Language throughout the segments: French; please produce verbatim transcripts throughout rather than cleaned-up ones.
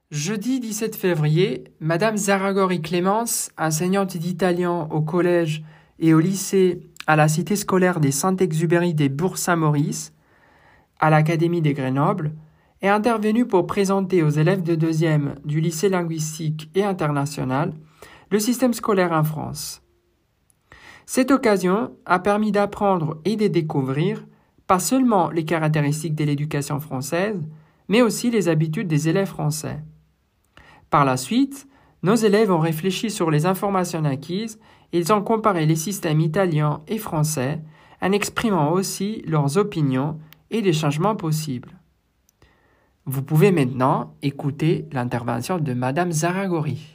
Jeudi dix-sept février, Madame Zaragori-Clémence, enseignante d'italien au collège et au lycée à la cité scolaire des Saint-Exupéry des Bourgs-Saint-Maurice, à l'Académie de Grenoble, est intervenue pour présenter aux élèves de deuxième du lycée linguistique et international le système scolaire en France. Cette occasion a permis d'apprendre et de découvrir pas seulement les caractéristiques de l'éducation française, mais aussi les habitudes des élèves français. Par la suite, nos élèves ont réfléchi sur les informations acquises et ils ont comparé les systèmes italiens et français en exprimant aussi leurs opinions et les changements possibles. Vous pouvez maintenant écouter l'intervention de Madame Zaragori.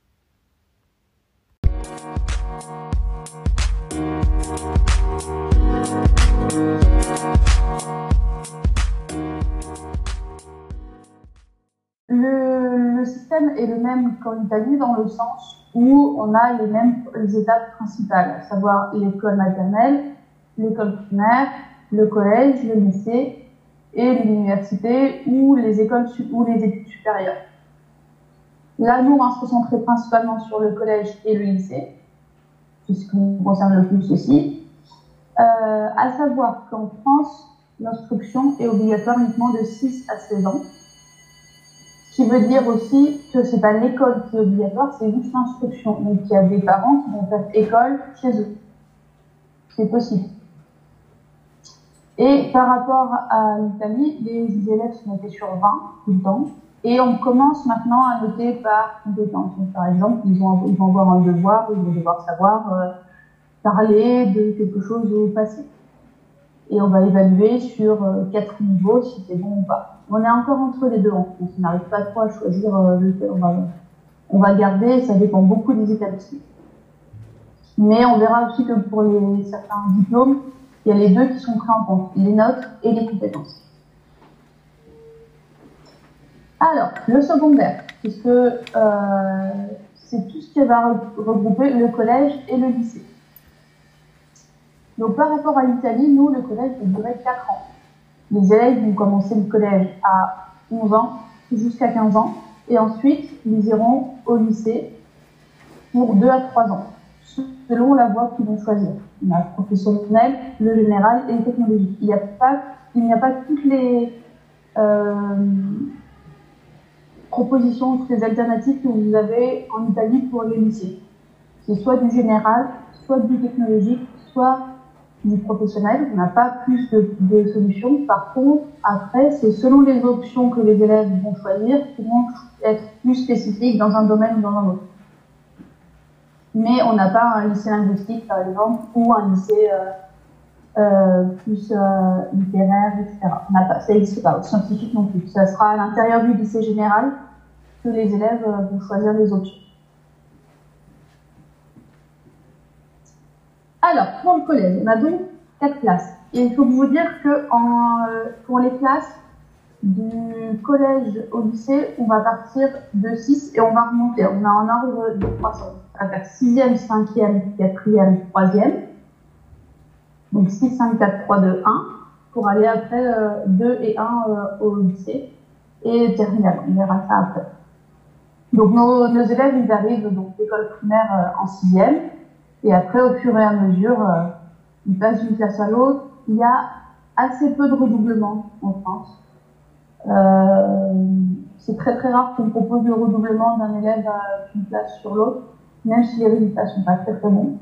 Le, le système est le même qu'en Italie dans le sens où on a les mêmes les étapes principales, à savoir l'école maternelle, l'école primaire, le collège, le lycée et l'université ou les écoles ou les études supérieures. Là, nous, on va se concentrer principalement sur le collège et le lycée, c'est ce qui nous concerne le plus aussi. Euh, à savoir qu'en France, l'instruction est obligatoire uniquement de six à seize ans. Ce qui veut dire aussi que c'est pas l'école qui est obligatoire, c'est juste l'instruction. Donc il y a des parents qui vont faire école chez eux. C'est possible. Et par rapport à l'Italie, les élèves sont notés sur vingt tout le temps. Et on commence maintenant à noter par compétence. Donc, par exemple, ils vont, ils vont avoir un devoir, ils vont devoir savoir euh, parler de quelque chose au passé. Et on va évaluer sur euh, quatre niveaux si c'est bon ou pas. On est encore entre les deux, donc on n'arrive pas trop à choisir euh, lequel on va, on va garder, ça dépend beaucoup des établissements. Mais on verra aussi que pour les, certains diplômes, il y a les deux qui sont pris en compte, les notes et les compétences. Alors, le secondaire, puisque euh, c'est tout ce qui va regrouper le collège et le lycée. Donc par rapport à l'Italie, nous, le collège va durer quatre ans. Les élèves vont commencer le collège à onze ans jusqu'à quinze ans et ensuite ils iront au lycée pour deux à trois ans, selon la voie qu'ils vont choisir. On a le professionnel, le général et le technologique. Il n'y a pas, il n'y a pas toutes les euh, propositions, toutes les alternatives que vous avez en Italie pour les lycées. C'est soit du général, soit du technologique, soit du professionnel. On n'a pas plus de, de solutions. Par contre, après, c'est selon les options que les élèves vont choisir qui vont être plus spécifiques dans un domaine ou dans un autre. Mais on n'a pas un lycée linguistique, par exemple, ou un lycée euh, euh, plus euh, littéraire, et cetera. On n'a pas, ça n'existe pas, scientifique non plus. Ça sera à l'intérieur du lycée général que les élèves euh, vont choisir les options. Alors, pour le collège, on a donc quatre classes. Et il faut vous dire que en, euh, pour les classes du collège au lycée, on va partir de six et on va remonter. On a un ordre de croissance. On va faire sixième, cinquième, quatrième, troisième. Donc six, cinq, quatre, trois, deux, un. Pour aller après euh, deux et un euh, au lycée. Et terminal, on verra ça après. Donc nos, nos élèves, ils arrivent donc l'école primaire euh, en sixième. Et après, au fur et à mesure, euh, ils passent d'une classe à l'autre. Il y a assez peu de redoublement en France. Euh, c'est très très rare qu'on propose le redoublement d'un élève d'une classe sur l'autre, même si les résultats sont pas très très bons.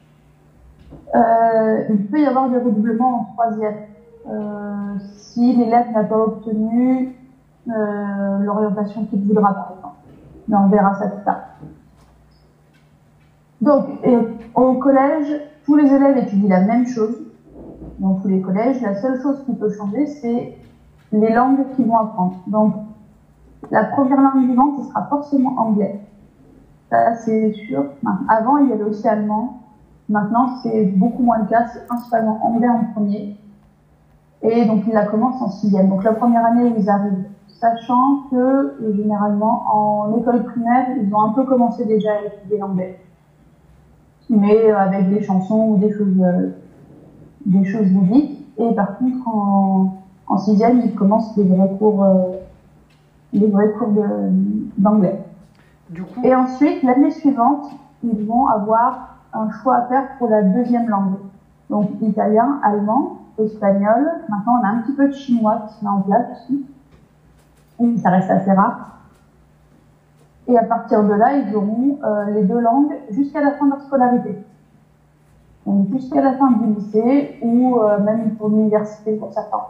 Euh, il peut y avoir des redoublements en troisième. Euh, si l'élève n'a pas obtenu euh, l'orientation qu'il voudra, par exemple. Mais on verra ça plus tard. Donc, et au collège, tous les élèves étudient la même chose. Dans tous les collèges, la seule chose qui peut changer, c'est les langues qu'ils vont apprendre. Donc, la première langue vivante, ce sera forcément anglais. Ça, c'est sûr. Avant, il y avait aussi allemand. Maintenant, c'est beaucoup moins le cas. C'est principalement anglais en premier. Et donc, ils la commencent en sixième. Donc, la première année où ils arrivent, sachant que, généralement, en école primaire, ils ont un peu commencé déjà à étudier l'anglais. Mais avec des chansons ou des choses, euh, des choses ludiques. Et par contre, en, en sixième, ils commencent des vrais cours, euh, les vrais cours de, d'anglais. Du coup, Et ensuite, l'année suivante, ils vont avoir un choix à faire pour la deuxième langue. Donc, italien, allemand, espagnol. Maintenant, on a un petit peu de chinois qui se met en place aussi. Et ça reste assez rare. Et à partir de là, ils auront euh, les deux langues jusqu'à la fin de leur scolarité. Donc, jusqu'à la fin du lycée ou euh, même pour l'université pour certains.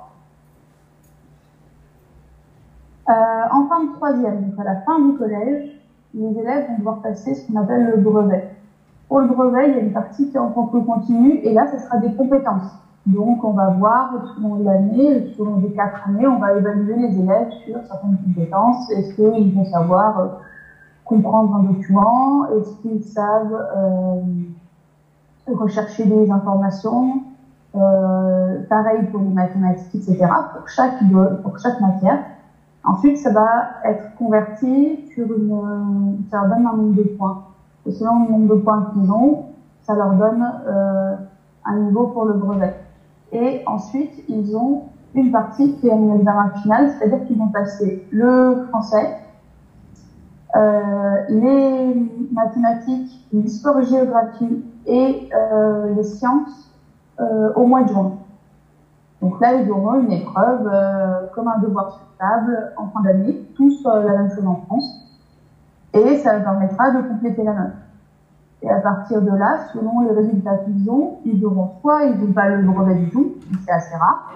Euh, en fin de troisième, donc à la fin du collège, les élèves vont devoir passer ce qu'on appelle le brevet. Pour le brevet, il y a une partie qui est en contrôle continu, et là, ce sera des compétences. Donc, on va voir, selon l'année, selon les quatre années, on va évaluer les élèves sur certaines compétences. Est-ce qu'ils vont savoir euh, comprendre un document? Est-ce qu'ils savent euh, rechercher des informations? euh, Pareil pour les mathématiques, et cetera, pour chaque, pour chaque matière. Ensuite, ça va être converti sur une, ça leur donne un nombre de points. Et selon le nombre de points qu'ils ont, ça leur donne euh, un niveau pour le brevet. Et ensuite, ils ont une partie qui est un examen final, c'est-à-dire qu'ils vont passer le français, euh, les mathématiques, l'histoire-géographie et euh, les sciences euh, au mois de juin. Donc là, ils auront une épreuve euh, comme un devoir sur table en fin d'année, tous euh, la même chose en France, et ça leur permettra de compléter la note. Et à partir de là, selon les résultats qu'ils ont, ils auront soit ils n'ont pas le brevet du tout, c'est assez rare,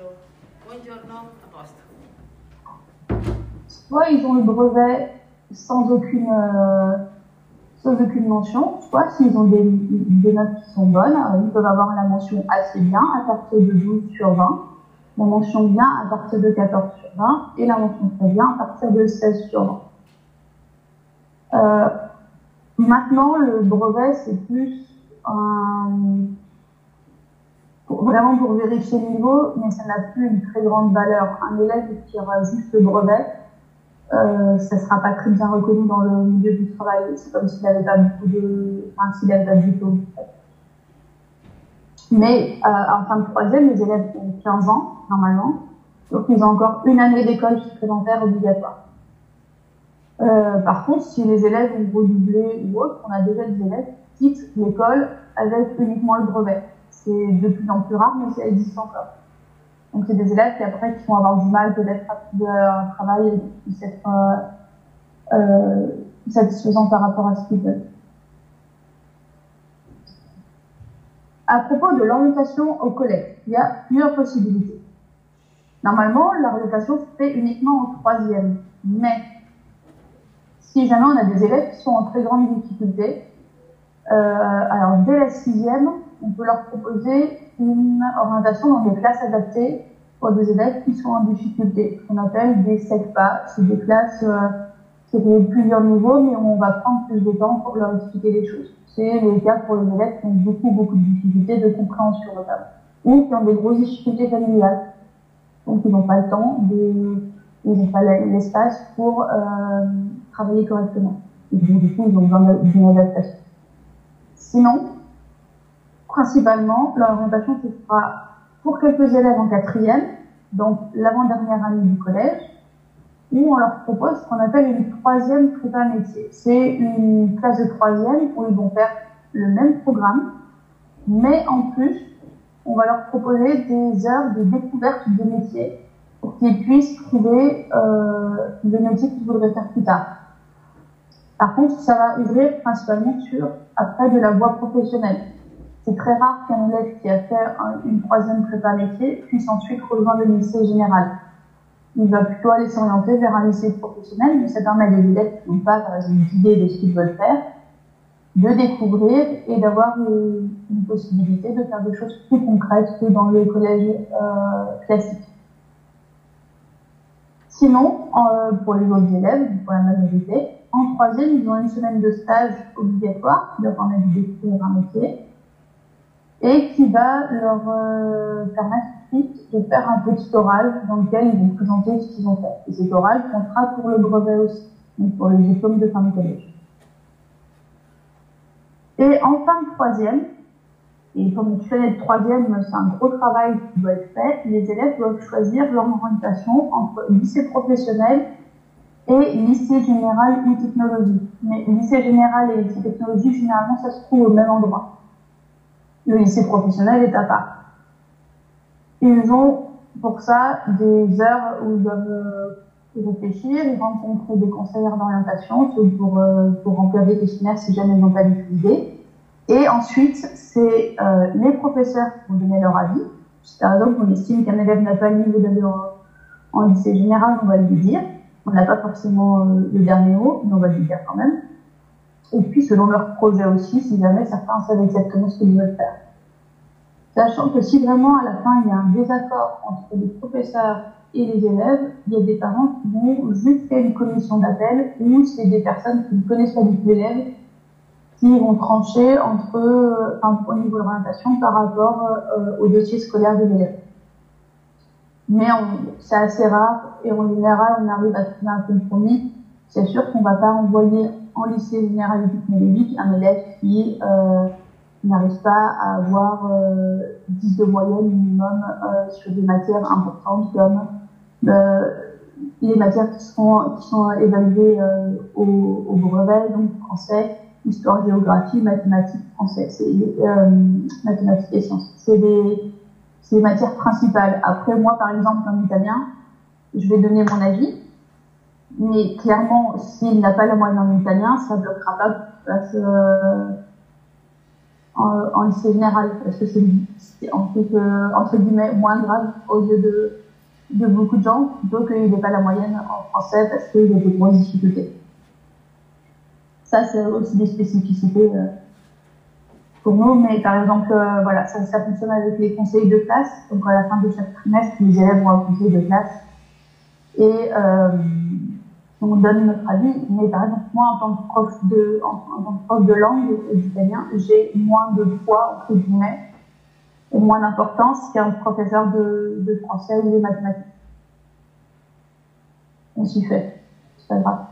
soit ils ont le brevet sans aucune euh, sans aucune mention, soit s'ils ont des, des notes qui sont bonnes, ils peuvent avoir la mention assez bien à partir de douze sur vingt, la mention bien à partir de quatorze sur vingt, et la mention très bien à partir de seize sur vingt. Euh, maintenant, le brevet, c'est plus un, pour, vraiment pour vérifier le niveau, mais ça n'a plus une très grande valeur. Un élève qui aura juste le brevet, Euh, ça ne sera pas très bien reconnu dans le milieu du travail. C'est comme s'il n'avait pas beaucoup de, enfin, s'il n'avait pas de diplôme. Mais euh, en fin de troisième, les élèves ont quinze ans, normalement. Donc, ils ont encore une année d'école supplémentaire obligatoire. Euh, par contre, si les élèves ont redoublé ou autre, on a déjà des élèves qui quittent l'école avec uniquement le brevet. C'est de plus en plus rare, mais ça existe encore. Donc, c'est des élèves qui, après, qui vont avoir du mal peut-être à trouver un travail et qui puissent être euh, euh, satisfaisants par rapport à ce qu'ils veulent. À propos de l'orientation au collège, il y a plusieurs possibilités. Normalement, l'orientation se fait uniquement en troisième. Mais, si jamais on a des élèves qui sont en très grande difficulté, euh, alors dès la sixième, on peut leur proposer une orientation dans des classes adaptées pour des élèves qui sont en difficulté, qu'on appelle des SECPA. C'est des classes euh, qui ont plusieurs niveaux, mais on va prendre plus de temps pour leur expliquer les choses. C'est le cas pour les élèves qui ont beaucoup, beaucoup de difficultés de compréhension notamment, ou qui ont des grosses difficultés familiales. Donc, ils n'ont pas le temps, de, ils n'ont pas l'espace pour euh, travailler correctement. Et donc, du coup, ils ont besoin d'une adaptation. Sinon, principalement, l'orientation se fera pour quelques élèves en quatrième, donc l'avant-dernière année du collège, où on leur propose ce qu'on appelle une troisième prépa métier. C'est une classe de troisième où ils vont faire le même programme, mais en plus, on va leur proposer des heures de découverte de métiers pour qu'ils puissent trouver euh, le métier qu'ils voudraient faire plus tard. Par contre, ça va ouvrir principalement sur, après, de la voie professionnelle. C'est très rare qu'un élève qui a fait un, une troisième prépa métier puisse ensuite rejoindre le lycée général. Il va plutôt aller s'orienter vers un lycée professionnel, mais ça permet à des élèves qui n'ont pas, par exemple, d'idée de ce qu'ils veulent faire, de découvrir et d'avoir une, une possibilité de faire des choses plus concrètes que dans le collège euh, classique. Sinon, euh, pour les autres élèves, pour la majorité, en troisième, ils ont une semaine de stage obligatoire qui leur permet de découvrir un métier et qui va leur euh, permettre ensuite de faire un petit oral dans lequel ils vont présenter ce qu'ils ont fait. Et cet oral comptera pour le brevet aussi, donc pour le diplôme de fin de collège. Et en fin de troisième, et comme tu fais le troisième, c'est un gros travail qui doit être fait, les élèves doivent choisir leur orientation entre lycée professionnel et lycée général ou technologie. Mais lycée général et lycée technologie, généralement, ça se trouve au même endroit. Le lycée professionnel est à part. Ils ont pour ça des heures où ils doivent réfléchir, ils rencontrent des conseillères d'orientation pour, pour remplir des questionnaires si jamais ils n'ont pas d'idée. Et ensuite, c'est euh, les professeurs qui vont donner leur avis. Par exemple, on estime qu'un élève n'a pas le niveau d'aller en, en lycée général, on va lui dire. On n'a pas forcément euh, le dernier mot, mais on va lui dire quand même. Et puis, selon leur projet aussi, si jamais certains savent exactement ce qu'ils veulent faire. Sachant que si vraiment, à la fin, il y a un désaccord entre les professeurs et les élèves, il y a des parents qui vont juste faire une commission d'appel, ou c'est des personnes qui ne connaissent pas du tout l'élève, qui vont trancher entre eux, enfin, au niveau de l'orientation par rapport euh, au dossier scolaire de l'élève. Mais c'est assez rare, et en général, on arrive à trouver un compromis. C'est sûr qu'on ne va pas envoyer en lycée général et technologique un élève qui euh, n'arrive pas à avoir euh, dix de moyenne minimum euh, sur des matières importantes comme euh, les matières qui sont, qui sont évaluées euh, au, au brevet, donc français, histoire, géographie, mathématiques, français, c'est euh, mathématiques et sciences. C'est des, c'est les matières principales. Après, moi, par exemple, en italien, je vais donner mon avis, mais clairement, s'il n'a pas la moyenne en italien, ça ne bloquera pas parce, euh, en, en lycée général, parce que c'est entre, entre guillemets moins grave aux yeux de, de beaucoup de gens, plutôt qu'il n'ait pas la moyenne en français parce qu'il y a des grosses difficultés. Ça, c'est aussi des spécificités euh, pour nous, mais par exemple, euh, voilà, ça, ça fonctionne avec les conseils de classe. Donc, à la fin de chaque trimestre, les élèves vont au conseil de classe et euh, on donne notre avis. Mais par exemple, moi, en tant que prof de, en, en tant que prof de langue et d'italien, j'ai moins de poids, entre guillemets, et moins d'importance qu'un professeur de, de français ou de mathématiques. On s'y fait, c'est pas grave.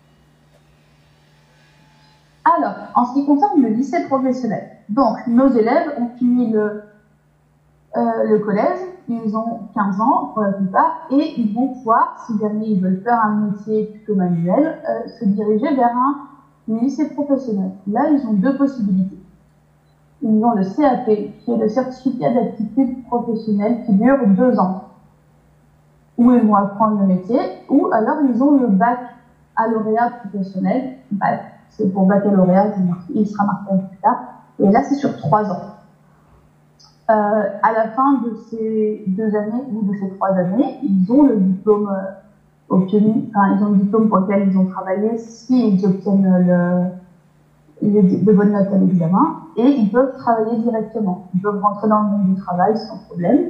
Alors, en ce qui concerne le lycée professionnel, donc nos élèves ont fini le, euh, le collège, ils ont quinze ans pour la plupart, et ils vont pouvoir, si jamais ils veulent faire un métier plutôt manuel, euh, se diriger vers un lycée professionnel. Là, ils ont deux possibilités. Ils ont le C A P, qui est le certificat d'aptitude professionnelle, qui dure deux ans, où ils vont apprendre le métier, ou alors ils ont le baccalauréat professionnel, bac. C'est pour baccalauréat, il sera marqué plus tard. Et là, c'est sur trois ans. Euh, à la fin de ces deux années ou de ces trois années, ils ont le diplôme euh, obtenu, enfin, ils ont le diplôme pour lequel ils ont travaillé s'ils obtiennent le, le, de bonnes notes à l'examen, et ils peuvent travailler directement. Ils peuvent rentrer dans le monde du travail sans problème.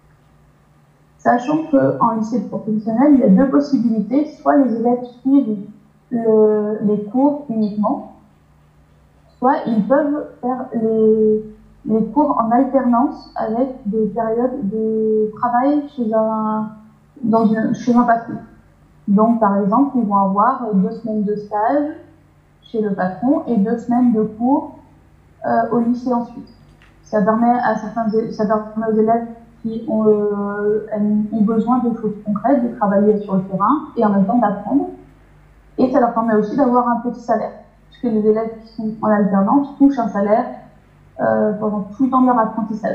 Sachant qu'en lycée professionnel, il y a deux possibilités. Soit les élèves suivent Le, les cours uniquement, soit ils peuvent faire les, les cours en alternance avec des périodes de travail chez un, dans une, chez un patron. Donc, par exemple, ils vont avoir deux semaines de stage chez le patron et deux semaines de cours euh, au lycée ensuite. Ça permet à certains, ça permet aux élèves qui ont, euh, ont besoin de choses concrètes, de travailler sur le terrain et en même temps d'apprendre. Et ça leur permet aussi d'avoir un petit salaire, puisque les élèves qui sont en alternance touchent un salaire euh, pendant tout le temps de leur apprentissage.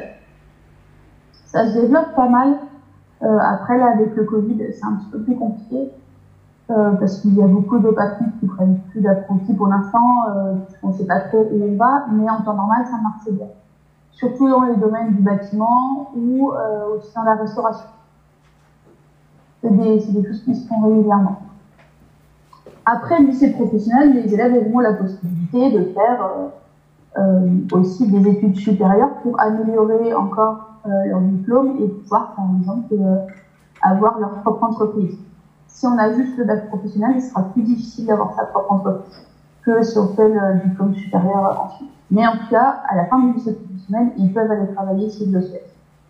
Ça se développe pas mal. Euh, après, là, avec le Covid, c'est un petit peu plus compliqué, euh, parce qu'il y a beaucoup de patrons qui prennent plus d'apprentis pour l'instant, euh, on ne sait pas trop où on va, mais en temps normal, ça marche bien. Surtout dans les domaines du bâtiment ou euh, aussi dans la restauration. C'est des, c'est des choses qui se font régulièrement. Après le lycée professionnel, les élèves auront la possibilité de faire euh, euh, aussi des études supérieures pour améliorer encore euh, leur diplôme et pouvoir, par exemple, euh, avoir leur propre entreprise. Si on a juste le bac professionnel, il sera plus difficile d'avoir sa propre entreprise que si on fait le diplôme supérieur ensuite. Mais en tout cas, à la fin du lycée professionnel, ils peuvent aller travailler s'ils le souhaitent.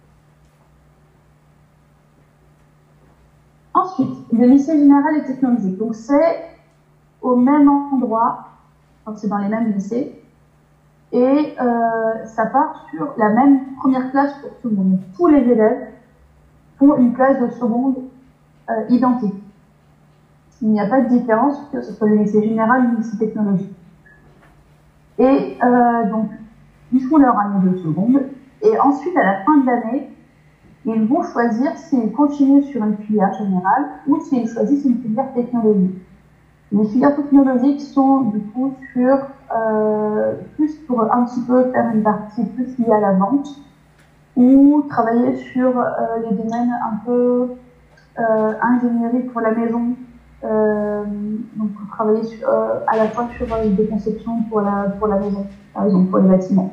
Ensuite, le lycée général et technologique. Donc c'est au même endroit, donc c'est dans les mêmes lycées, et euh, ça part sur la même première classe pour tout le monde. Tous les élèves font une classe de seconde euh, identique. Il n'y a pas de différence que ce soit le lycée général ou le lycée technologique. Et euh, donc, ils font leur année de seconde, et ensuite, à la fin de l'année, ils vont choisir s'ils continuent sur une filière générale ou s'ils choisissent une filière technologique. Les filières technologiques sont du coup sur euh, plus pour un petit peu faire une partie plus liée à la vente ou travailler sur euh, les domaines un peu euh, ingénierie pour la maison, euh, donc travailler sur, euh, à la fois sur euh, des conceptions pour la, pour la maison, par exemple pour les bâtiments.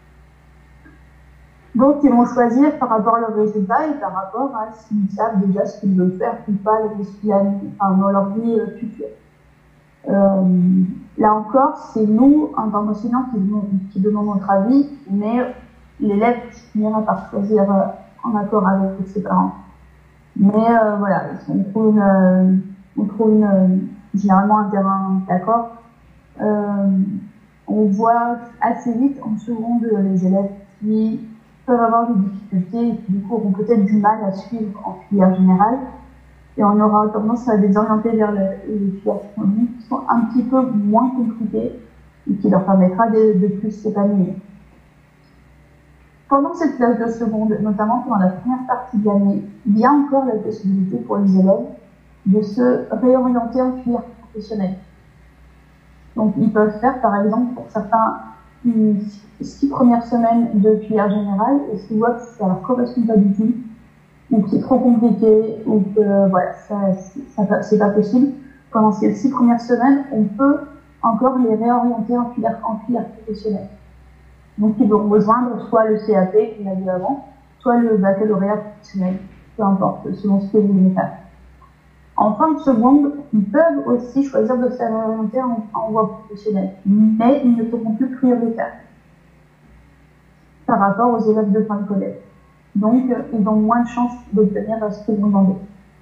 Donc, ils vont choisir par rapport à leurs résultats et par rapport à s'ils savent déjà ce qu'ils veulent faire ou pas enfin, dans leur vie euh, future. Euh, là encore, c'est nous, en tant qu'enseignants, qui, qui donnons notre avis, mais l'élève finira par choisir euh, en accord avec ses parents. Mais euh, voilà, on trouve, une, euh, on trouve une, généralement un terrain d'accord. Euh, on voit assez vite en seconde les élèves qui peuvent avoir des difficultés et qui du coup auront peut-être du mal à suivre en filière générale. Et on aura tendance à les orienter vers le, les filières technologiques qui sont un petit peu moins compliquées et qui leur permettra de, de plus s'épanouir. Pendant cette classe de seconde, notamment pendant la première partie de l'année, il y a encore la possibilité pour les élèves de se réorienter en filière professionnelle. Donc ils peuvent faire par exemple pour certains une six premières semaines de filière générale et s'ils voient que ça leur correspond pas du tout, ou que c'est trop compliqué, ou que voilà, ça, ça, c'est pas possible, pendant ces six premières semaines, on peut encore les réorienter en filière, en filière professionnelle. Donc ils vont rejoindre soit le C A P qu'on a vu avant, soit le baccalauréat professionnel, peu importe, selon ce que vous voulez faire. En fin de seconde, ils peuvent aussi choisir de s'orienter en, en voie professionnelle, mais ils ne seront plus prioritaires par rapport aux élèves de fin de collège. Donc, euh, ils ont moins de chances d'obtenir ce qu'ils vont demander.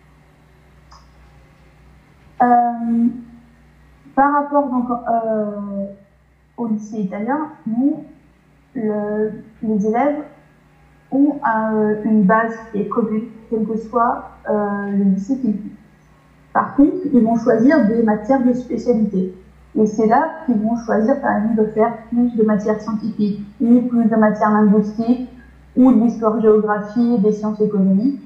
Euh, par rapport donc, euh, au lycée italien, nous, le, les élèves ont un, une base qui est commune, quel que soit euh, le lycée qu'ils font. Par contre, ils vont choisir des matières de spécialité. Et c'est là qu'ils vont choisir, par exemple, de faire plus de matières scientifiques, ou plus de matières linguistiques, ou de l'histoire-géographie, des sciences économiques.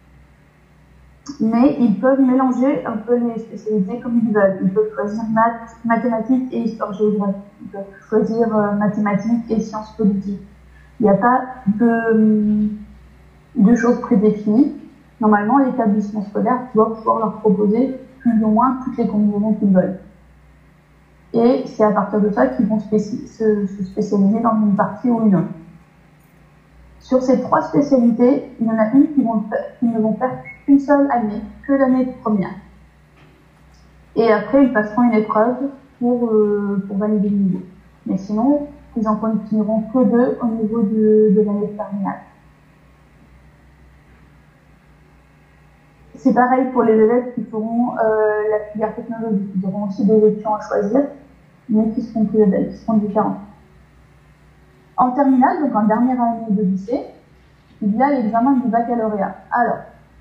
Mais ils peuvent mélanger un peu les spécialités comme ils veulent. Ils peuvent choisir maths, mathématiques et histoire-géographie. Ils peuvent choisir euh, mathématiques et sciences politiques. Il n'y a pas de, de choses prédéfinies. Normalement, l'établissement scolaire doit pouvoir leur proposer plus ou moins toutes les combinaisons qu'ils veulent. Et c'est à partir de ça qu'ils vont spéci- se, se spécialiser dans une partie ou une autre. Sur ces trois spécialités, il y en a une qui, vont, qui ne vont faire qu'une seule année, que l'année de première. Et après, ils passeront une épreuve pour, euh, pour valider le niveau. Mais sinon, ils en continueront que deux au niveau de, de l'année de terminale. C'est pareil pour les élèves qui feront euh, la filière technologique. Ils auront aussi des options à choisir, mais qui seront plus belles, qui seront différentes. En terminale, donc en dernière année de lycée, il y a l'examen du baccalauréat. Alors,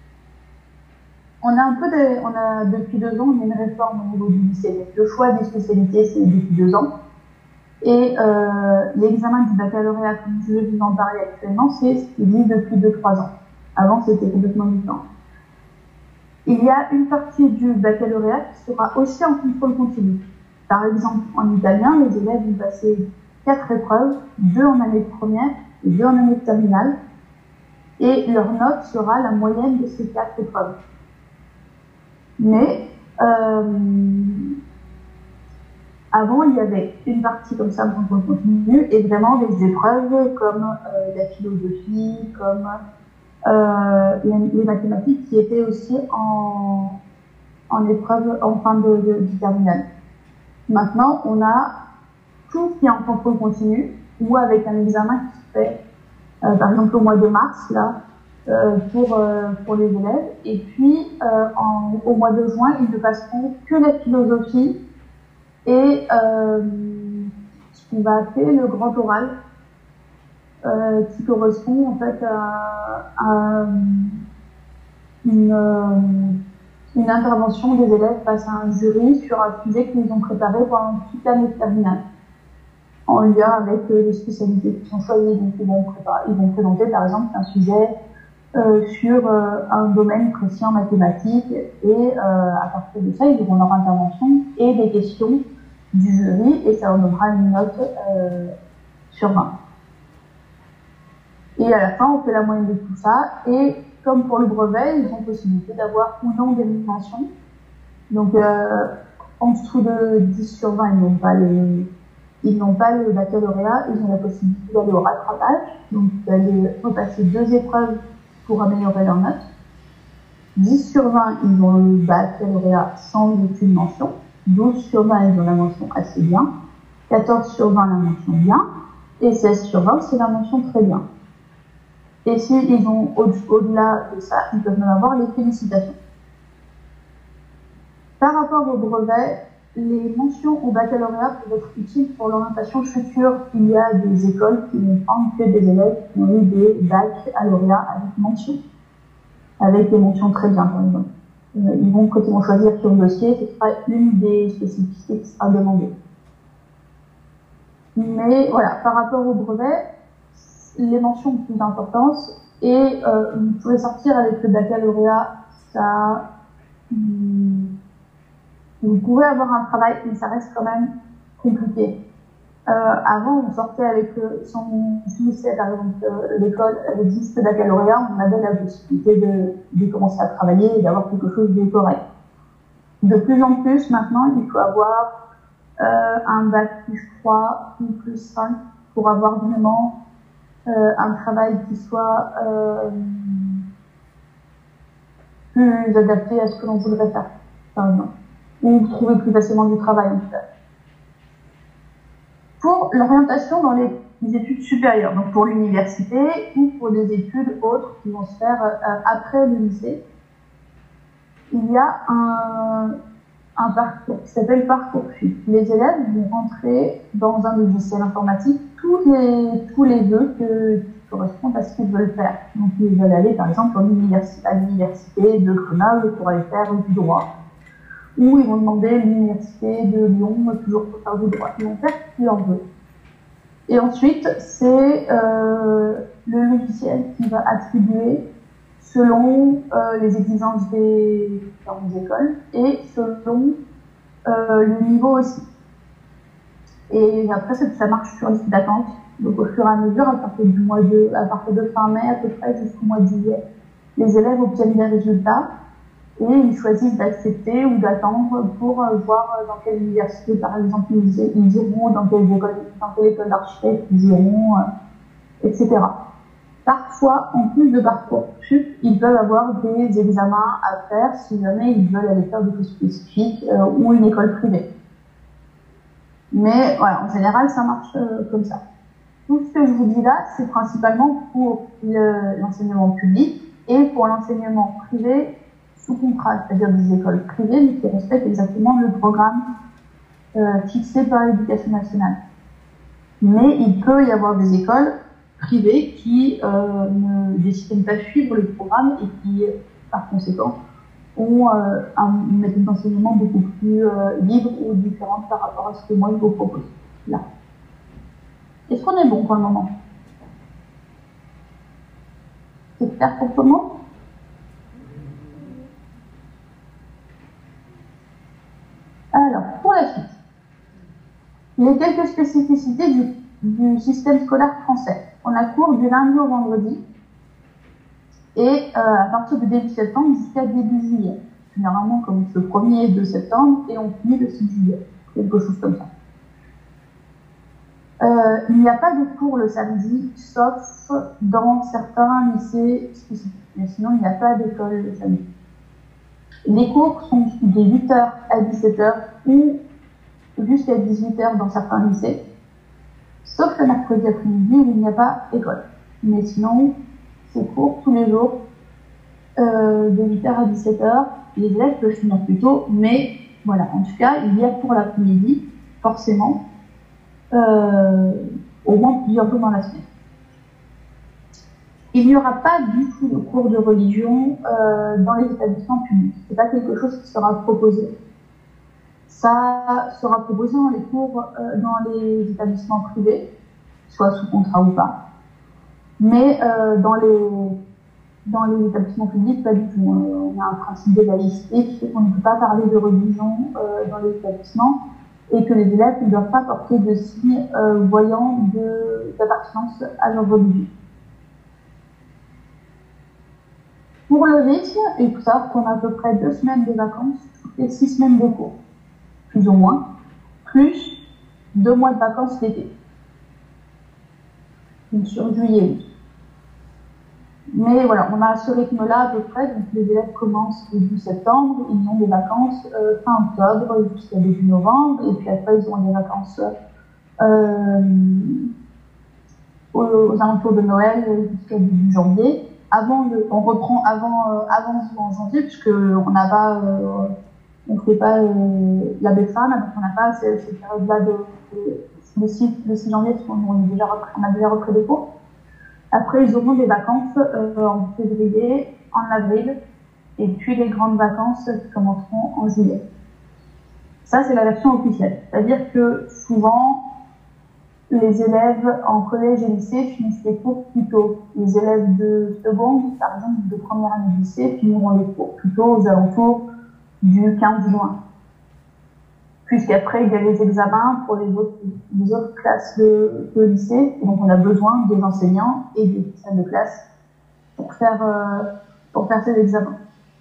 on a un peu de, on a, depuis deux ans, on a une réforme au niveau du lycée. Donc, le choix des spécialités, c'est depuis deux ans. Et euh, l'examen du baccalauréat, comme je vais vous en parler actuellement, c'est ce qui existe depuis deux trois ans. Avant, c'était complètement différent. Il y a une partie du baccalauréat qui sera aussi en contrôle continu. Par exemple, en italien, les élèves vont passer quatre épreuves, deux en année de première et deux en année de terminale, et leur note sera la moyenne de ces quatre épreuves. Mais euh, avant, il y avait une partie comme ça en contrôle continu et vraiment des épreuves comme euh, la philosophie, comme euh, les, les mathématiques qui étaient aussi en, en épreuve en fin de, de, du terminal. Maintenant, on a tout qui est en contrôle continu ou avec un examen qui se fait, euh, par exemple, au mois de mars, là, euh, pour, euh, pour les élèves. Et puis, euh, en, au mois de juin, ils ne passeront que la philosophie et euh, ce qu'on va appeler le grand oral, euh, qui correspond en fait à, à une, euh, une intervention des élèves face à un jury sur un sujet qu'ils ont préparé pendant toute l'année de terminale, en lien avec euh, les spécialités qui sont choisies. Donc, ils vont, préparer, ils vont présenter, par exemple, un sujet euh, sur euh, un domaine précis en mathématiques, et euh, à partir de ça, ils auront leur intervention et des questions du jury, et ça leur donnera une note euh, sur vingt. Et à la fin, on fait la moyenne de tout ça, et comme pour le brevet, ils ont possibilité d'avoir ou non des mentions. Donc, euh, en dessous de dix sur vingt, ils n'ont pas le, ils n'ont pas le baccalauréat, ils ont la possibilité d'aller au rattrapage, donc d'aller repasser deux épreuves pour améliorer leur note. dix sur vingt, ils ont le baccalauréat sans aucune mention. douze sur vingt, ils ont la mention assez bien. quatorze sur vingt, la mention bien. Et seize sur vingt, c'est la mention très bien. Et s'ils ont au-delà de ça, ils peuvent même avoir les félicitations. Par rapport au brevet, les mentions au baccalauréat peuvent être utiles pour l'orientation future. Il y a des écoles qui vont prendre que des élèves qui ont eu des baccalauréats avec mention, avec des mentions très bien, par exemple. Ils vont, quand ils vont choisir sur le dossier, ce sera une des spécificités qui sera demandée. Mais voilà, par rapport au brevet, les mentions ont plus d'importance, et euh, vous pouvez sortir avec le baccalauréat, ça, hum, vous pouvez avoir un travail, mais ça reste quand même compliqué. Euh, avant, on sortait avec, euh, si on finissait par exemple euh, l'école avec dix baccalauréat, on avait la possibilité de, de commencer à travailler et d'avoir quelque chose de correct. De plus en plus, maintenant, il faut avoir euh, un bac plus trois ou plus cinq pour avoir vraiment euh, un travail qui soit euh, plus adapté à ce que l'on voudrait faire, par exemple. Ou trouver plus facilement du travail, en tout cas. Pour l'orientation dans les, les études supérieures, donc pour l'université ou pour des études autres qui vont se faire euh, après le lycée, il y a un, un parcours qui s'appelle Parcoursup. Les élèves vont rentrer dans un logiciel informatique tous les, tous les vœux que, qui correspondent à ce qu'ils veulent faire. Donc ils veulent aller par exemple à l'université de Grenoble pour aller faire du droit. Ou ils vont demander l'université de Lyon, toujours pour faire du droit. Ils vont faire ce qu'ils en veulent. Et ensuite, c'est euh, le logiciel qui va attribuer selon euh, les exigences des différentes écoles et selon euh, le niveau aussi. Et après, ça, ça marche sur liste d'attente. Donc au fur et à mesure, à partir du mois de, à partir de fin mai à peu près jusqu'au mois de juillet, les élèves obtiennent des résultats. Et ils choisissent d'accepter ou d'attendre pour euh, voir dans quelle université, par exemple, ils, ils iront, dans quelle école, dans quelle école d'architecte ils iront, euh, et cetera. Parfois, en plus de Parcoursup, ils peuvent avoir des examens à faire si jamais ils veulent aller faire des choses spécifiques euh, ou une école privée. Mais voilà, en général, ça marche euh, comme ça. Tout ce que je vous dis là, c'est principalement pour l'enseignement public et pour l'enseignement privé sous contrat, c'est-à-dire des écoles privées, mais qui respectent exactement le programme euh, fixé par l'Éducation nationale. Mais il peut y avoir des écoles privées qui euh, ne décident pas de suivre le programme et qui, par conséquent, ont euh, un, une méthode d'enseignement beaucoup plus euh, libre ou différente par rapport à ce que moi je vous propose. Là. Est-ce qu'on est bon pour le moment? C'est clair pour tout le monde? Alors, pour la suite, il y a quelques spécificités du, du système scolaire français. On a cours du lundi au vendredi et euh, à partir du début septembre jusqu'à début juillet. Généralement, on commence le premier et deux septembre et on finit le six juillet, quelque chose comme ça. Euh, il n'y a pas de cours le samedi, sauf dans certains lycées spécifiques. Mais sinon, il n'y a pas d'école le samedi. Les cours sont de huit heures à dix-sept heures ou jusqu'à dix-huit heures dans certains lycées, sauf le mercredi après-midi où il n'y a pas école. Mais sinon, c'est cours tous les jours, euh, de huit heures à dix-sept heures. Les élèves peuvent finir plus tôt, mais voilà, en tout cas, il y a pour l'après-midi, forcément, euh, au moins plusieurs jours dans la semaine. Il n'y aura pas du tout de cours de religion euh, dans les établissements publics. C'est pas quelque chose qui sera proposé. Ça sera proposé dans les cours euh, dans les établissements privés, soit sous contrat ou pas. Mais euh, dans les dans les établissements publics, pas du tout. On a un principe de laïcité qui fait qu'on ne peut pas parler de religion euh, dans les établissements et que les élèves ne doivent pas porter de signes euh, voyants d'appartenance à leur religion. Pour le rythme, il faut savoir qu'on a à peu près deux semaines de vacances et six semaines de cours, plus ou moins, plus deux mois de vacances l'été, donc sur juillet. Mais voilà, on a ce rythme-là à peu près, donc les élèves commencent début septembre, ils ont des vacances euh, fin octobre jusqu'à début novembre, et puis après ils ont des vacances euh, aux, aux alentours de Noël jusqu'à début janvier. Avant le, on reprend avant euh, avant en janvier puisque on n'a pas euh, on fait pas euh, la Befana, donc on n'a pas cette, cette période-là de, de le six janvier parce qu'on on, déjà repris, on a déjà repris des cours. Après ils auront des vacances euh, en février, en avril et puis les grandes vacances qui commenceront en juillet. Ça c'est la version officielle, c'est-à-dire que souvent les élèves en collège et lycée finissent les cours plus tôt. Les élèves de seconde, par exemple, de première année de lycée, finiront les cours plus tôt, aux alentours du quinze juin. Puisqu'après, il y a les examens pour les autres, les autres classes de, de lycée. Et donc, on a besoin des enseignants et des salles de classe pour faire, euh, pour faire ces examens.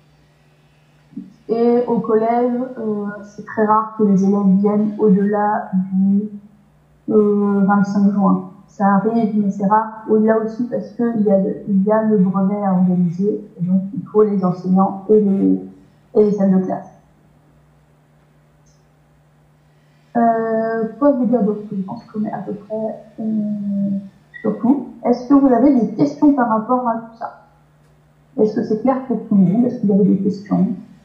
Et au collège, euh, c'est très rare que les élèves viennent au-delà du Euh, vingt-cinq juin. Ça arrive, mais c'est rare. Au-delà aussi parce qu'il y a le, il y a le brevet à organiser, et donc il faut les enseignants et les, et les salles de classe. Euh, quoi vous dire d'autre? Je pense qu'on est à peu près euh, sur tout. Est-ce que vous avez des questions par rapport à tout ça? Est-ce que c'est clair pour tout le monde? Est-ce que vous avez des questions?